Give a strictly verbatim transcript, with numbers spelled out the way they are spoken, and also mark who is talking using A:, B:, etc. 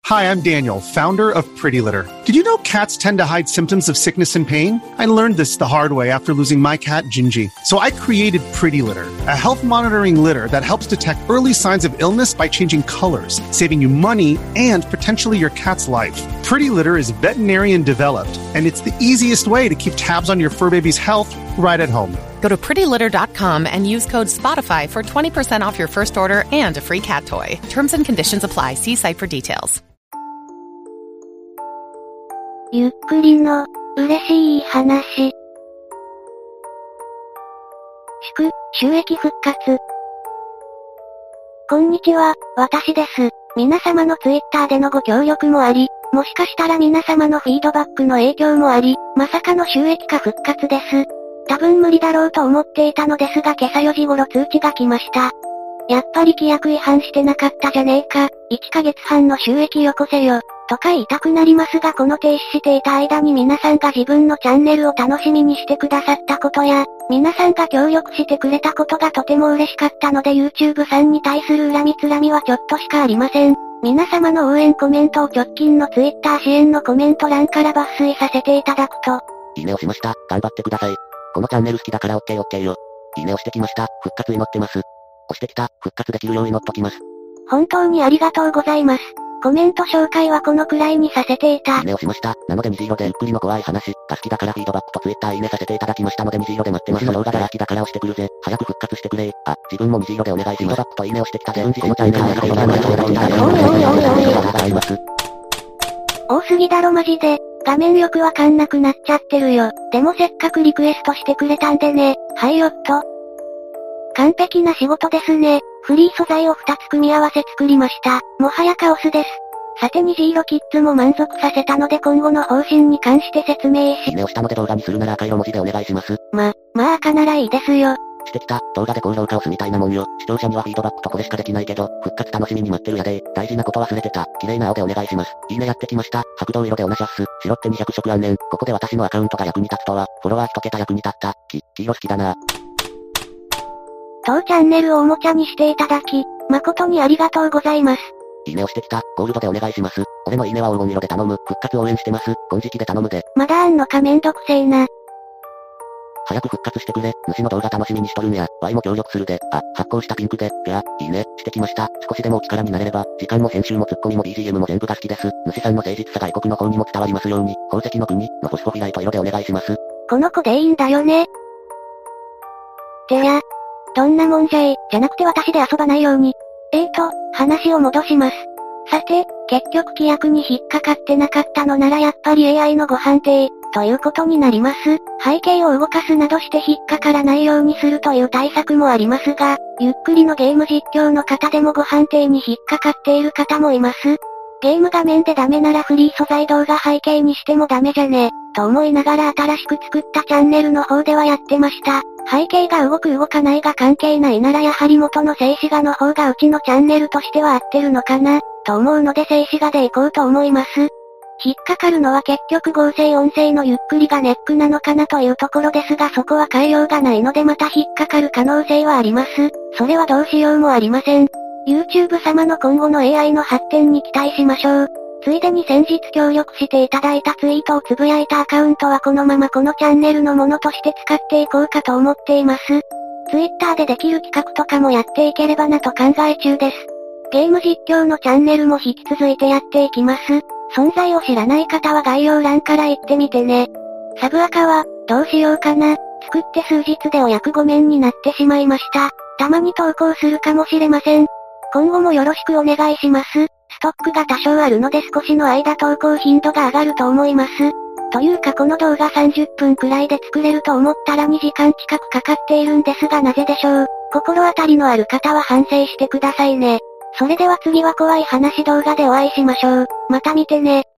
A: Hi, I'm Daniel, founder of Pretty Litter. Did you know cats tend to hide symptoms of sickness and pain? I learned this the hard way after losing my cat, Gingy. So I created Pretty Litter, a health monitoring litter that helps detect early signs of illness by changing colors, saving you money and potentially your cat's life. Pretty Litter is veterinarian developed, and it's the easiest way to keep tabs on your fur baby's health right at home.
B: Go to pretty litter dot com and use code SPOTIFY for twenty percent off your first order and a free cat toy. Terms and conditions apply. See site for details.
C: ゆっくりの、嬉しい話。祝、収益復活。こんにちは、私です。皆様のツイッターでのご協力もあり、もしかしたら皆様のフィードバックの影響もあり、まさかの収益化復活です。多分無理だろうと思っていたのですが今朝よじ頃通知が来ました。やっぱり規約違反してなかったじゃねえか、いっかげつはんの収益よこせよ。とか言いたくなりますがこの停止していた間に皆さんが自分のチャンネルを楽しみにしてくださったことや、皆さんが協力してくれたことがとても嬉しかったので YouTube さんに対する恨みつらみはちょっとしかありません。皆様の応援コメントを直近の Twitter 支援のコメント欄から抜粋させていただくと。
D: いいねをしました。頑張ってください。このチャンネル好きだから オーケーオーケー よ。いいねをしてきました。復活祈ってます。押してきた。復活できるよう祈っときます。
C: 本当にありがとうございます。コメント紹介はこのくらいにさせていた。
D: いいねをしました。なので虹色でゆっくりの怖い話が好きだからフィードバックとツイッターいいねさせていただきましたので虹色で待ってます。の動画が好きだから押してくるぜ。早く復活してくれ。あ、自分も虹色でお願いします。フィードバックといいねをしてきたぜ。このチャンネルはこの名前をいただきたい。おいおいおいおいおい。
C: 多すぎだろマジで。画面よくわかんなくなっちゃってるよ。でもせっかくリクエストしてくれたんでね。はいよっと。完璧な仕事ですね。フリー素材をふたつ組み合わせ作りました。もはやカオスです。さて虹色キッズも満足させたので今後の方針に関して説明し。
D: いいねをしたので動画にするなら赤色文字でお願いします。
C: ま、まあ赤ならいいですよ。
D: してきた。動画で高評価押すみたいなもんよ。視聴者にはフィードバックとこれしかできないけど、復活楽しみに待ってるやで。大事なこと忘れてた。綺麗な青でお願いします。いいねやってきました。白銅色でおなしゃっす。白ってにひゃく色あんねん。ここで私のアカウントが役に立つとは、フォロワー一桁役に立った。き、黄色好きだな。
C: 当チャンネルをおもちゃにしていただき、誠にありがとうございます。
D: いいねをしてきた。ゴールドでお願いします。俺のいいねは黄金色で頼む。復活応援してます。金色で頼むで。
C: まだあんのかめんどくせえな。
D: 早く復活してくれ。主の動画楽しみにしとるんや。ワイも協力するで。あ、発行したピンクで。ぴゃ、いいね、してきました。少しでもお力になれれば、時間も編集もツッコミも ビージーエム も全部が好きです。主さんの誠実さが異国の方にも伝わりますように。宝石の国のフォスフォフィライト色でお願いします。
C: この子でいいんだよね。じゃあ、どんなもんじゃい、じゃなくて私で遊ばないように。えーと、話を戻します。さて、結局規約に引っかかってなかったのならやっぱり エーアイ のご判定、ということになります。背景を動かすなどして引っかからないようにするという対策もありますが、ゆっくりのゲーム実況の方でもご判定に引っかかっている方もいます。ゲーム画面でダメならフリー素材動画背景にしてもダメじゃね、と思いながら新しく作ったチャンネルの方ではやってました。背景が動く動かないが関係ないならやはり元の静止画の方がうちのチャンネルとしては合ってるのかな、と思うので静止画でいこうと思います。引っかかるのは結局合成音声のゆっくりがネックなのかなというところですがそこは変えようがないのでまた引っかかる可能性はあります。それはどうしようもありません。YouTube 様の今後の エーアイ の発展に期待しましょう。ついでに先日協力していただいたツイートをつぶやいたアカウントはこのままこのチャンネルのものとして使っていこうかと思っています。Twitter でできる企画とかもやっていければなと考え中です。ゲーム実況のチャンネルも引き続いてやっていきます。存在を知らない方は概要欄から行ってみてね。サブアカは、どうしようかな。作って数日でお役御免になってしまいました。たまに投稿するかもしれません。今後もよろしくお願いします。ストックが多少あるので少しの間投稿頻度が上がると思います。というかこの動画さんじゅっぷんくらいで作れると思ったらにじかん近くかかっているんですがなぜでしょう。心当たりのある方は反省してくださいね。それでは次は怖い話動画でお会いしましょう。また見てね。